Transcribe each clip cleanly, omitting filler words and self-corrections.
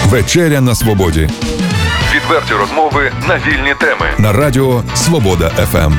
Вечеря на свободі. Відверті розмови на вільні теми. На радіо Свобода ФМ.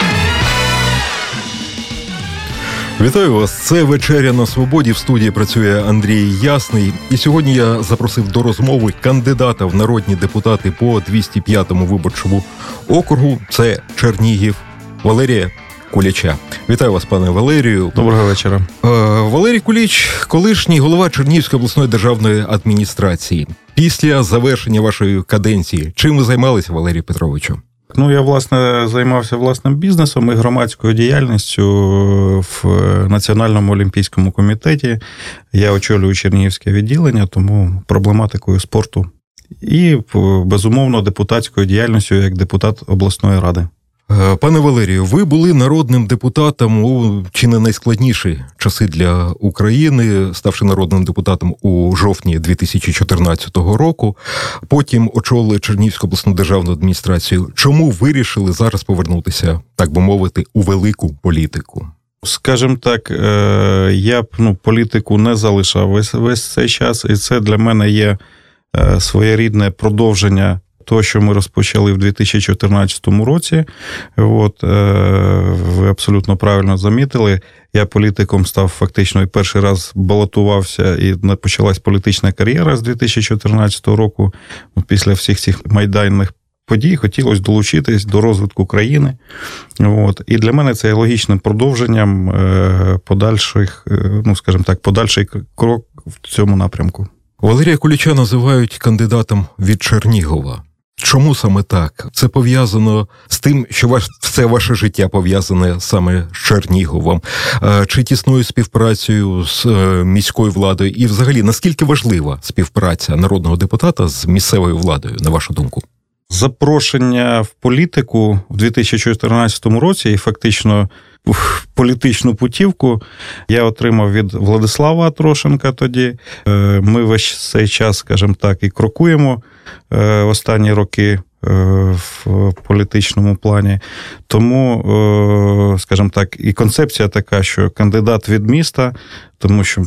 Вітаю вас. Це «Вечеря на свободі». В студії працює Андрій Ясний. І сьогодні я запросив до розмови кандидата в народні депутати по 205-му виборчому округу. Це Чернігів, Валерія Куліча. Вітаю вас, пане Валерію. Доброго вечора. Валерій Куліч – колишній голова Чернігівської обласної державної адміністрації. Після завершення вашої каденції, чим ви займалися, Валерію Петровичу? Я, власне, займався власним бізнесом і громадською діяльністю в Національному олімпійському комітеті. Я очолюю Чернігівське відділення, тому проблематикою спорту. І, безумовно, депутатською діяльністю як депутат обласної ради. Пане Валерію, ви були народним депутатом у чи не найскладніші часи для України, ставши народним депутатом у жовтні 2014 року. Потім очолили Чернігівську обласну державну адміністрацію. Чому вирішили зараз повернутися, так би мовити, у велику політику? Скажімо так, я б політику не залишав весь цей час, і це для мене є своєрідне продовження того, що ми розпочали в 2014 році. Ви абсолютно правильно замітили. Я політиком став фактично і перший раз балотувався, і почалась політична кар'єра з 2014 року. Після всіх цих майданних подій хотілося долучитись до розвитку країни. І для мене це є логічним продовженням подальший крок в цьому напрямку. Валерія Куліча називають кандидатом від Чернігова. Чому саме так? Це пов'язано з тим, що все ваше життя пов'язане саме з Черніговом? Чи тісною співпрацею з міською владою? І взагалі, наскільки важлива співпраця народного депутата з місцевою владою, на вашу думку? Запрошення в політику в 2014 році і фактично політичну путівку я отримав від Владислава Атрошенка тоді. Ми весь цей час, скажімо так, і крокуємо останні роки в політичному плані. Тому, скажімо так, і концепція така, що кандидат від міста, тому що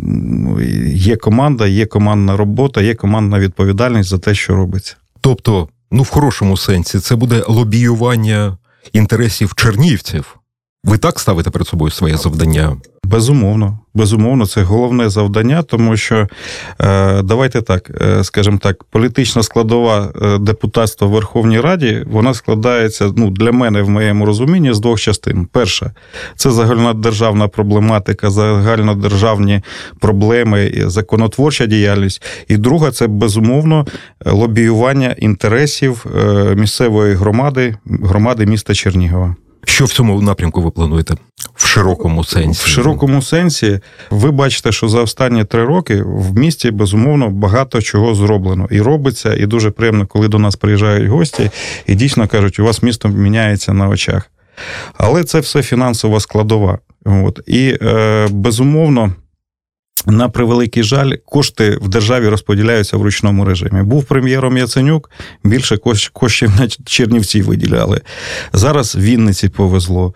є команда, є командна робота, є командна відповідальність за те, що робиться. Тобто, в хорошому сенсі, це буде лобіювання інтересів чернігівців? Ви так ставите перед собою своє завдання? Безумовно, це головне завдання, тому що, давайте так, скажімо так, політична складова депутатства в Верховній Раді, вона складається, для мене, в моєму розумінні, з двох частин. Перша – це загальнодержавна проблематика, загальнодержавні проблеми, законотворча діяльність. І друга – це, безумовно, лобіювання інтересів місцевої громади міста Чернігова. Що в цьому напрямку ви плануєте? В широкому сенсі? В широкому сенсі ви бачите, що за останні 3 роки в місті, безумовно, багато чого зроблено. І робиться, і дуже приємно, коли до нас приїжджають гості і дійсно кажуть, у вас місто міняється на очах. Але це все фінансова складова. І, безумовно, на превеликий жаль, кошти в державі розподіляються в ручному режимі. Був прем'єром Яценюк, більше коштів на Чернівці виділяли. Зараз Вінниці повезло.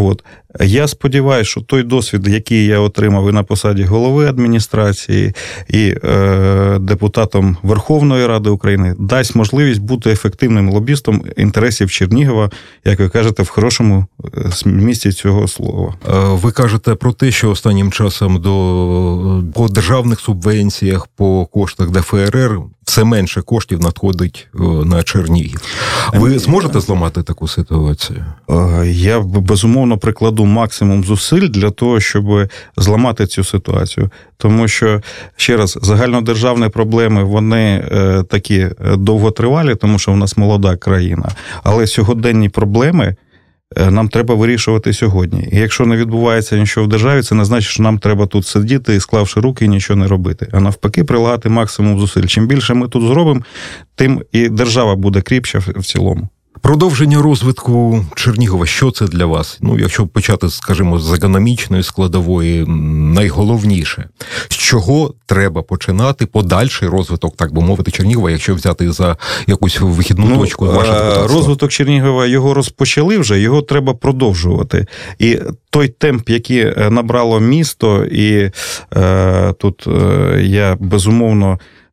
Я сподіваюся, що той досвід, який я отримав і на посаді голови адміністрації, і депутатом Верховної Ради України, дасть можливість бути ефективним лобістом інтересів Чернігова, як ви кажете, в хорошому місці цього слова. Ви кажете про те, що останнім часом по державних субвенціях, по коштах ДФРР все менше коштів надходить на Чернігів. Ви зможете зламати таку ситуацію? Я, безумовно, прикладу максимум зусиль для того, щоб зламати цю ситуацію. Тому що, ще раз, загальнодержавні проблеми, вони такі довготривалі, тому що в нас молода країна. Але сьогоденні проблеми нам треба вирішувати сьогодні. І якщо не відбувається нічого в державі, це не значить, що нам треба тут сидіти, склавши руки, і нічого не робити. А навпаки, прилагати максимум зусиль. Чим більше ми тут зробимо, тим і держава буде кріпша в цілому. Продовження розвитку Чернігова, що це для вас? Якщо почати, скажімо, з економічної складової, найголовніше. З чого треба починати подальший розвиток, так би мовити, Чернігова, якщо взяти за якусь вихідну точку вашого депутатства? Розвиток Чернігова, його розпочали вже, його треба продовжувати. І той темп, який набрало місто, і тут я, безумовно,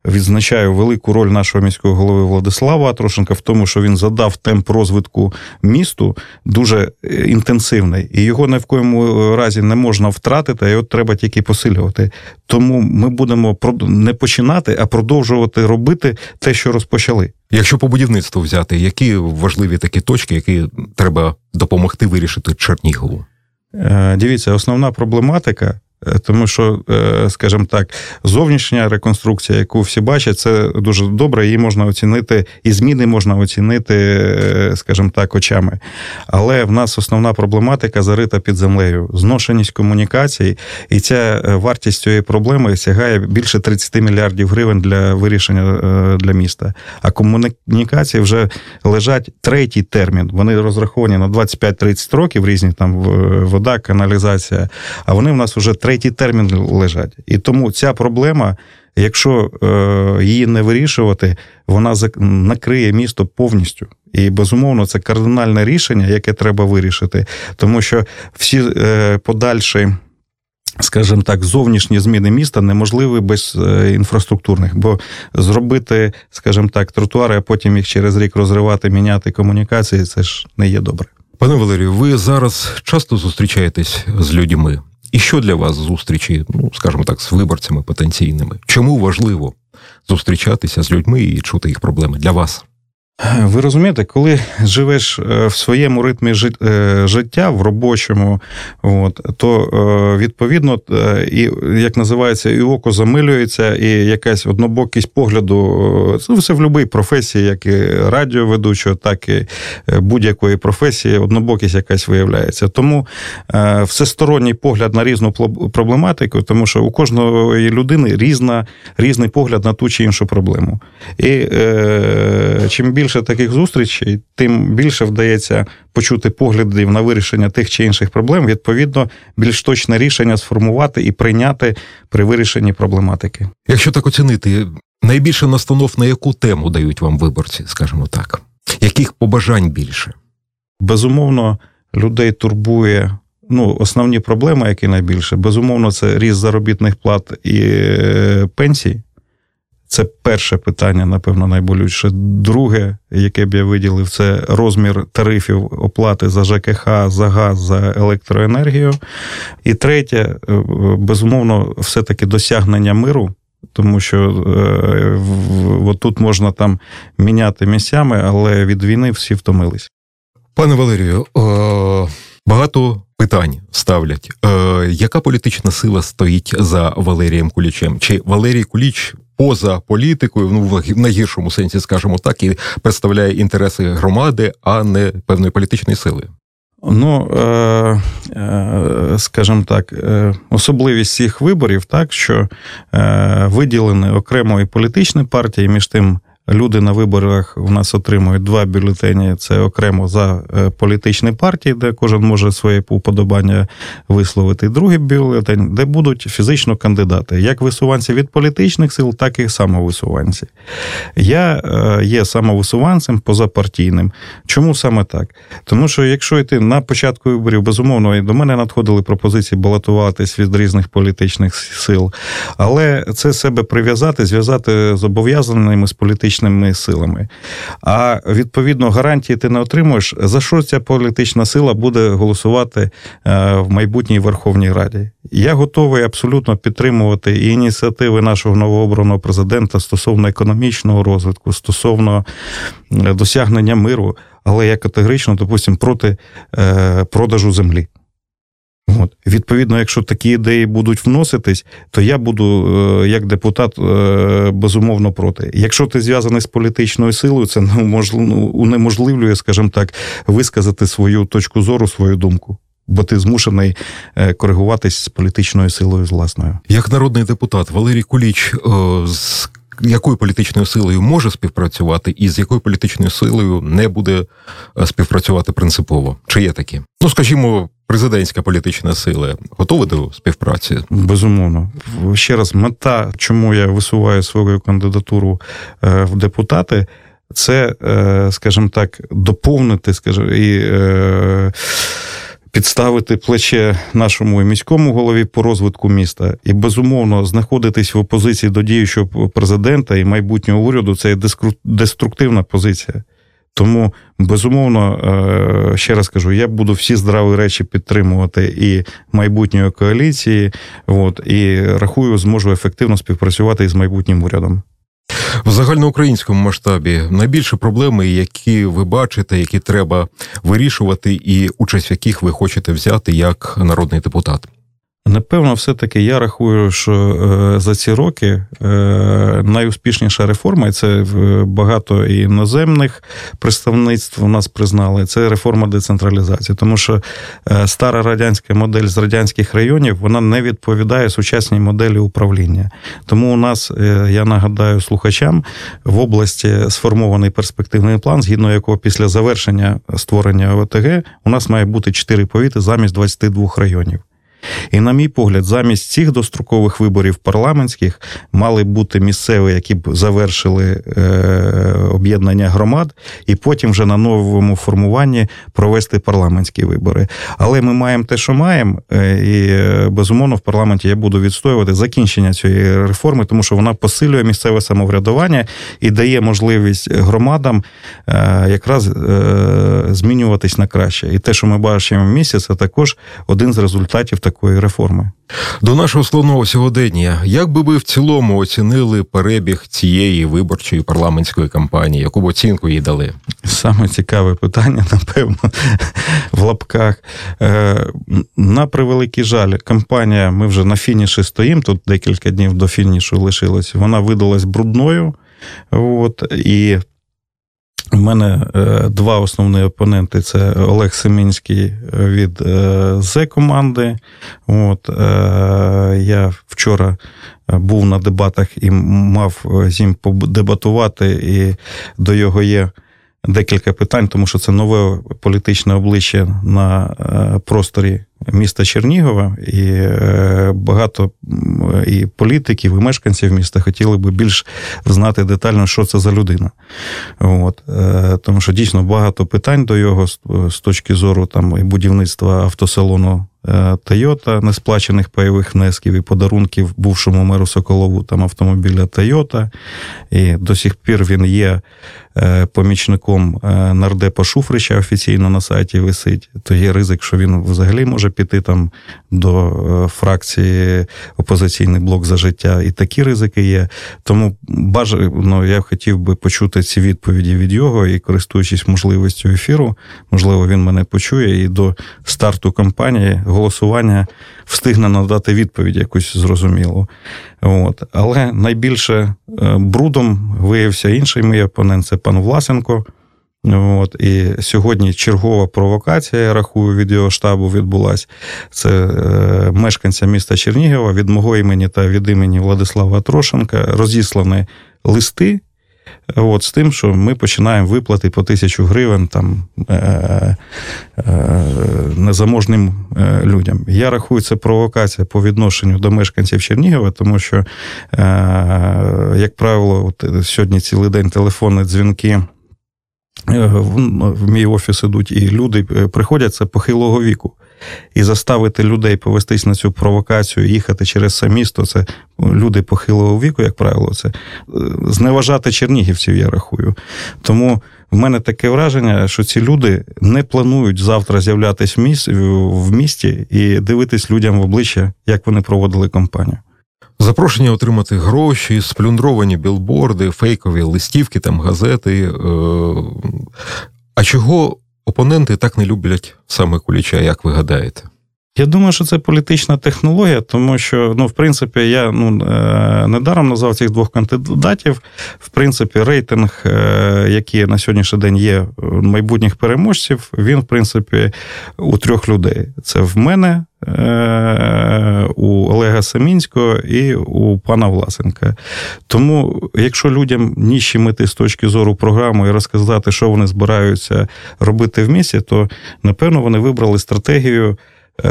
відзначаю велику роль нашого міського голови Владислава Атрошенка в тому, що він задав темп розвитку місту дуже інтенсивний, і його ні в коєму разі не можна втратити, а його треба тільки посилювати. Тому ми будемо не починати, а продовжувати робити те, що розпочали. Якщо по будівництву взяти, які важливі такі точки, які треба допомогти вирішити Чернігову? Дивіться, основна проблематика, тому що, скажімо так, зовнішня реконструкція, яку всі бачать, це дуже добре, її можна оцінити, і зміни можна оцінити, скажімо так, очами. Але в нас основна проблематика зарита під землею. Зношеність комунікацій, і ця вартість цієї проблеми сягає більше 30 мільярдів гривень для вирішення для міста. А комунікації вже лежать третій термін. Вони розраховані на 25-30 років, різні там вода, каналізація, а вони в нас вже третій термін лежать. І тому ця проблема, якщо її не вирішувати, вона накриє місто повністю. І, безумовно, це кардинальне рішення, яке треба вирішити. Тому що всі подальші, скажімо так, зовнішні зміни міста неможливі без інфраструктурних. Бо зробити, скажімо так, тротуари, а потім їх через рік розривати, міняти комунікації, це ж не є добре. Пане Валерію, ви зараз часто зустрічаєтесь з людьми. І що для вас зустрічі, скажімо так, з виборцями потенційними? Чому важливо зустрічатися з людьми і чути їх проблеми для вас? Ви розумієте, коли живеш в своєму ритмі життя, в робочому, то, відповідно, і, як називається, і око замилюється, і якась однобокість погляду, це все в будь-якій професії, як і радіоведучого, так і будь-якої професії, однобокість якась виявляється. Тому всесторонній погляд на різну проблематику, тому що у кожної людини різний погляд на ту чи іншу проблему. І чим більше таких зустрічей, тим більше вдається почути поглядів на вирішення тих чи інших проблем, відповідно, більш точне рішення сформувати і прийняти при вирішенні проблематики. Якщо так оцінити, найбільше настанов на яку тему дають вам виборці, скажімо так? Яких побажань більше? Безумовно, людей турбує, основні проблеми, які найбільше, безумовно, це ріст заробітних плат і пенсій. Це перше питання, напевно, найболючіше. Друге, яке б я виділив, це розмір тарифів оплати за ЖКХ, за газ, за електроенергію. І третє, безумовно, все-таки досягнення миру, тому що тут можна там міняти місцями, але від війни всі втомились. Пане Валерію, багато питань ставлять. Яка політична сила стоїть за Валерієм Кулічем? Чи Валерій Куліч поза політикою, в найгіршому сенсі, скажімо так, і представляє інтереси громади, а не певної політичної сили? Скажімо так, особливість цих виборів, так, що виділені окремо і політичні партії, між тим люди на виборах у нас отримують 2 бюлетені, це окремо за політичні партії, де кожен може своє уподобання висловити. І другий бюлетень, де будуть фізично кандидати, як висуванці від політичних сил, так і самовисуванці. Я є самовисуванцем позапартійним. Чому саме так? Тому що якщо йти на початку виборів, безумовно, і до мене надходили пропозиції балотуватись від різних політичних сил, але це себе прив'язати, зв'язати з зобов'язаними з політичними силами. А, відповідно, гарантії ти не отримуєш, за що ця політична сила буде голосувати в майбутній Верховній Раді. Я готовий абсолютно підтримувати і ініціативи нашого новообраного президента стосовно економічного розвитку, стосовно досягнення миру, але я категорично, допустимо, проти продажу землі. Відповідно, якщо такі ідеї будуть вноситись, то я буду, як депутат, безумовно проти. Якщо ти зв'язаний з політичною силою, це унеможливлює, скажімо так, висказати свою точку зору, свою думку. Бо ти змушений коригуватись з політичною силою з власною. Як народний депутат, Валерій Куліч з якою політичною силою може співпрацювати і з якою політичною силою не буде співпрацювати принципово? Чи є такі? Скажімо, президентська політична сила готова до співпраці? Безумовно. Ще раз, мета, чому я висуваю свою кандидатуру в депутати, це, скажімо так, доповнити, і підставити плече нашому міському голові по розвитку міста. І, безумовно, знаходитись в опозиції до діючого президента і майбутнього уряду – це деструктивна позиція. Тому, безумовно, ще раз кажу, я буду всі здраві речі підтримувати і майбутньої коаліції, і рахую, зможу ефективно співпрацювати із майбутнім урядом. В загальноукраїнському масштабі найбільші проблеми, які ви бачите, які треба вирішувати і участь в яких ви хочете взяти як народний депутат? Напевно, все-таки я рахую, що за ці роки найуспішніша реформа, і це багато і іноземних представництв у нас признали, це реформа децентралізації. Тому що стара радянська модель з радянських районів, вона не відповідає сучасній моделі управління. Тому у нас, я нагадаю слухачам, в області сформований перспективний план, згідно якого після завершення створення ОТГ у нас має бути 4 повіти замість 22 районів. І, на мій погляд, замість цих дострокових виборів парламентських мали бути місцеві, які б завершили об'єднання громад, і потім вже на новому формуванні провести парламентські вибори. Але ми маємо те, що маємо, і, безумовно, в парламенті я буду відстоювати закінчення цієї реформи, тому що вона посилює місцеве самоврядування і дає можливість громадам якраз змінюватись на краще. І те, що ми бачимо в місті, це також один з результатів такої реформи. До нашого складного сьогодення, як би ви в цілому оцінили перебіг цієї виборчої парламентської кампанії? Яку б оцінку їй дали? Саме цікаве питання, напевно, в лапках. На превеликий жаль, кампанія, ми вже на фініші стоїмо, тут декілька днів до фінішу лишилось, вона видалась брудною, і у мене 2 основні опоненти – це Олег Семінський від Зе-команди. Я вчора був на дебатах і мав з ним подебатувати, і до його є декілька питань, тому що це нове політичне обличчя на просторі міста Чернігова, і багато і політиків, і мешканців міста хотіли би більш знати детально, що це за людина. Тому що дійсно багато питань до його з точки зору там і будівництва автосалону Toyota, несплачених пайових внесків і подарунків бувшому меру Соколову там автомобіля Toyota. І до сих пір він є помічником нардепа Шуфрича, офіційно на сайті висить. То є ризик, що він взагалі може піти там до фракції «Опозиційний блок за життя». І такі ризики є. Тому я хотів би почути ці відповіді від його і, користуючись можливістю ефіру, можливо, він мене почує і до старту кампанії голосування встигне надати відповідь якусь зрозумілу. Але найбільше брудом виявився інший мій опонент – це пан Власенко. І сьогодні чергова провокація, я рахую, від його штабу відбулась. Це мешканця міста Чернігова від мого імені та від імені Владислава Трошенка розіслані листи з тим, що ми починаємо виплати по 1000 гривень там незаможним людям. Я рахую, це провокація по відношенню до мешканців Чернігова, тому що, як правило, сьогодні цілий день телефонні дзвінки в мій офіс ідуть, і люди приходять, це похилого віку. І заставити людей повестись на цю провокацію, їхати через це місто, це люди похилого віку, як правило, це зневажати чернігівців, я рахую. Тому в мене таке враження, що ці люди не планують завтра з'являтись в місті і дивитись людям в обличчя, як вони проводили кампанію. Запрошення отримати гроші, сплюндровані білборди, фейкові листівки, там газети. А чого опоненти так не люблять саме Куліча, як ви гадаєте? Я думаю, що це політична технологія, тому що, в принципі, я недаром назвав цих 2 кандидатів. В принципі, рейтинг, який на сьогоднішній день є майбутніх переможців, він, в принципі, у 3 людей. Це в мене, у Олега Семінського і у пана Власенка. Тому, якщо людям нижчі мети з точки зору програми і розказати, що вони збираються робити в місті, то, напевно, вони вибрали стратегію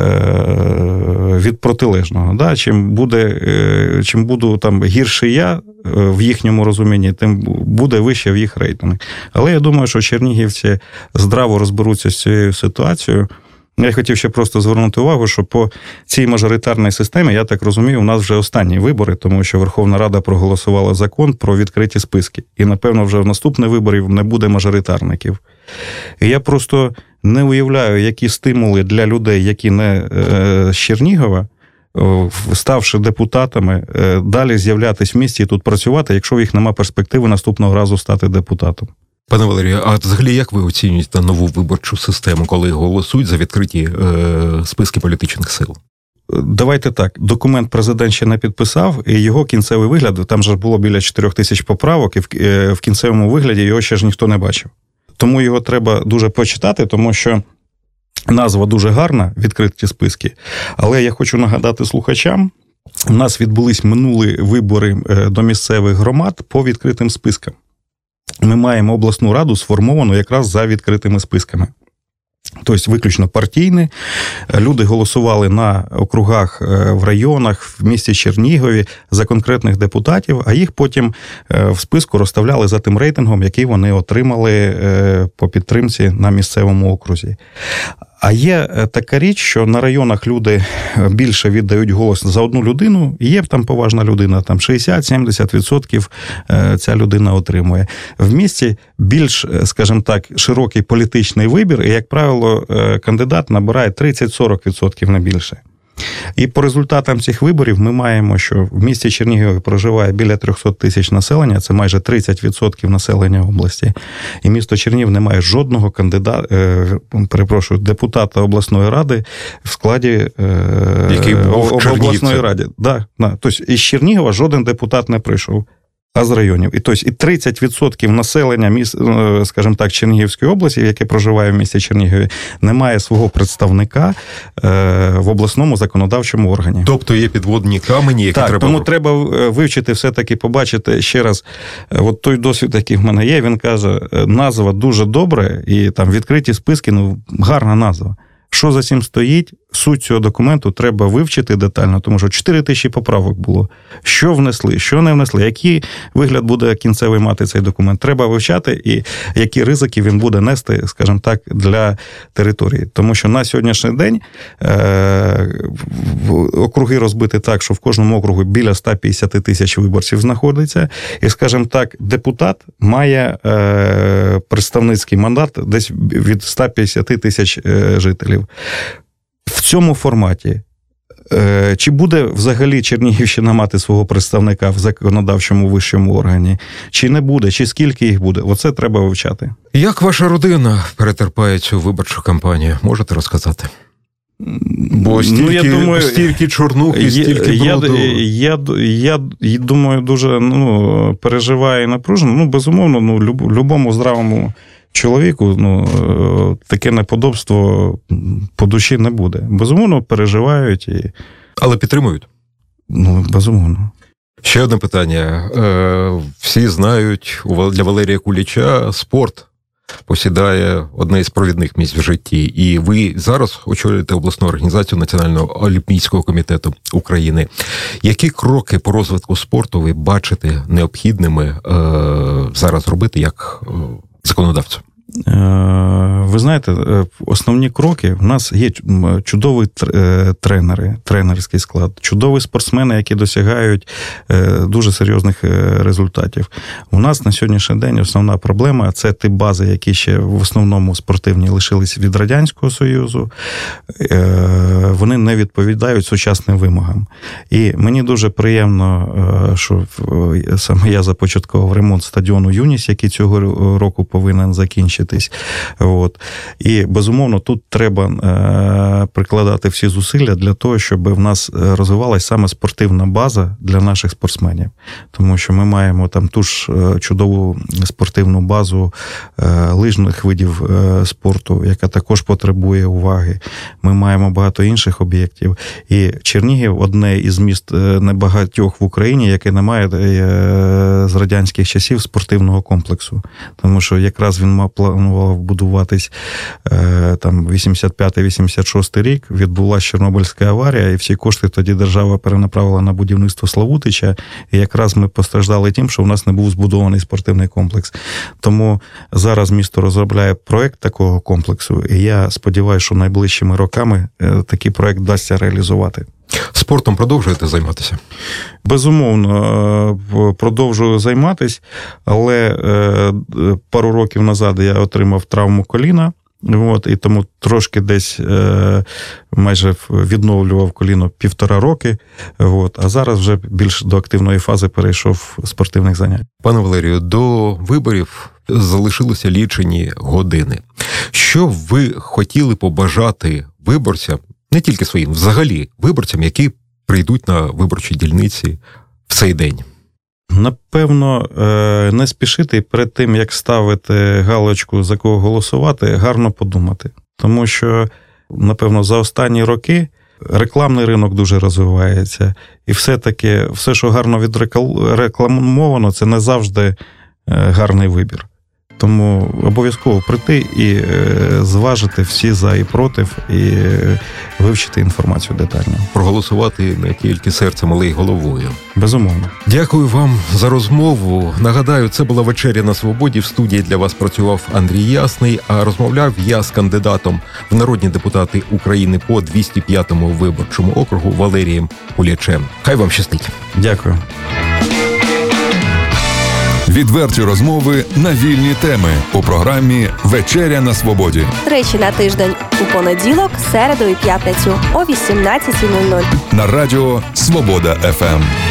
від протилежного. Чим буду там гірший я в їхньому розумінні, тим буде вище в їх рейтинг. Але я думаю, що чернігівці здраво розберуться з цією ситуацією Я хотів ще просто звернути увагу, що по цій мажоритарній системі, я так розумію, у нас вже останні вибори, тому що Верховна Рада проголосувала закон про відкриті списки. І, напевно, вже в наступних виборів не буде мажоритарників. І я просто не уявляю, які стимули для людей, які не з Чернігова, ставши депутатами, далі з'являтись в місті і тут працювати, якщо в їх немає перспективи наступного разу стати депутатом. Пане Валерію, а взагалі як ви оцінюєте нову виборчу систему, коли голосують за відкриті списки політичних сил? Давайте так, документ президент ще не підписав, і його кінцевий вигляд, там же було біля 4 тисяч поправок, і в кінцевому вигляді його ще ж ніхто не бачив. Тому його треба дуже почитати, тому що назва дуже гарна, відкриті списки, але я хочу нагадати слухачам, у нас відбулись минулі вибори до місцевих громад по відкритим спискам. Ми маємо обласну раду сформовану якраз за відкритими списками. Тобто виключно партійні. Люди голосували на округах, в районах, в місті Чернігові за конкретних депутатів, а їх потім в списку розставляли за тим рейтингом, який вони отримали по підтримці на місцевому окрузі. А є така річ, що на районах люди більше віддають голос за одну людину, і є там поважна людина, там 60-70% ця людина отримує. В місті більш, скажімо так, широкий політичний вибір, і, як правило, кандидат набирає 30-40%, не більше. І по результатам цих виборів ми маємо, що в місті Чернігові проживає біля 300 тисяч населення, це майже 30% населення області. І місто Чернігів не має жодного депутата обласної ради в складі обласної ради. Да. Тобто із Чернігова жоден депутат не прийшов, а з районів. І 30% населення, скажімо так, Чернігівської області, яке проживає в місті Чернігові, не має свого представника в обласному законодавчому органі. Тобто є підводні камені, які так, треба... тому треба вивчити, все-таки побачити ще раз. От той досвід, який в мене є, він каже, назва дуже добре, і там відкриті списки, гарна назва. Що за цим стоїть, суть цього документу треба вивчити детально, тому що 4 тисячі поправок було. Що внесли, що не внесли, який вигляд буде кінцевий мати цей документ. Треба вивчати, і які ризики він буде нести, скажімо так, для території. Тому що на сьогоднішній день округи розбиті так, що в кожному округу біля 150 тисяч виборців знаходиться. І, скажімо так, депутат має представницький мандат десь від 150 тисяч жителів. В цьому форматі чи буде взагалі Чернігівщина мати свого представника в законодавчому вищому органі, чи не буде, чи скільки їх буде, оце треба вивчати. Як ваша родина перетерпає цю виборчу кампанію? Можете розказати? Бо стільки чорнухи, стільки бруду. Я думаю, дуже переживає і напружено. Безумовно, любому здравому чоловіку таке неподобство по душі не буде. Безумовно, переживають. Але підтримують? Безумовно. Ще одне питання. Всі знають, для Валерія Куліча спорт посідає одне із провідних місць в житті. І ви зараз очолюєте обласну організацію Національного олімпійського комітету України. Які кроки по розвитку спорту ви бачите необхідними зараз робити як законодавцю? Ви знаєте, основні кроки, в нас є чудові тренерський склад, чудові спортсмени, які досягають дуже серйозних результатів. У нас на сьогоднішній день основна проблема – це ті бази, які ще в основному спортивні лишились від Радянського Союзу. Вони не відповідають сучасним вимогам. І мені дуже приємно, що саме я започаткував ремонт стадіону «Юність», який цього року повинен закінчитись. І, безумовно, тут треба прикладати всі зусилля для того, щоб в нас розвивалася саме спортивна база для наших спортсменів. Тому що ми маємо там ту ж чудову спортивну базу лижних видів спорту, яка також потребує уваги. Ми маємо багато інших об'єктів. І Чернігів – одне із міст небагатьох в Україні, яке не має з радянських часів спортивного комплексу. Тому що якраз він планував будуватись там 85-86 рік, відбулася Чорнобильська аварія, і всі кошти тоді держава перенаправила на будівництво Славутича, і якраз ми постраждали тим, що в нас не був збудований спортивний комплекс. Тому зараз місто розробляє проєкт такого комплексу, і я сподіваюся, що найближчими роками такий проєкт вдасться реалізувати. Спортом продовжуєте займатися? Безумовно, продовжую займатися, але пару років назад я отримав травму коліна, і тому трошки десь майже відновлював коліно 1,5 роки, а зараз вже більш до активної фази перейшов спортивних занять. Пане Валерію, до виборів залишилося лічені години. Що б ви хотіли побажати виборцям, не тільки своїм, взагалі виборцям, які прийдуть на виборчі дільниці в цей день? Напевно, не спішити перед тим, як ставити галочку, за кого голосувати, гарно подумати. Тому що, напевно, за останні роки рекламний ринок дуже розвивається. І все-таки, все, що гарно відрекламовано, це не завжди гарний вибір. Тому обов'язково прийти і зважити всі за і проти, і вивчити інформацію детально. Проголосувати не тільки серцем, але й головою. Безумовно. Дякую вам за розмову. Нагадаю, це була «Вечеря на свободі». В студії для вас працював Андрій Ясний, а розмовляв я з кандидатом в народні депутати України по 205-му виборчому округу Валерієм Кулячем. Хай вам щастить. Дякую. Відверті розмови на вільні теми у програмі «Вечеря на свободі». Тричі на тиждень у понеділок, середу і п'ятницю о 18:00. На радіо «Свобода ФМ».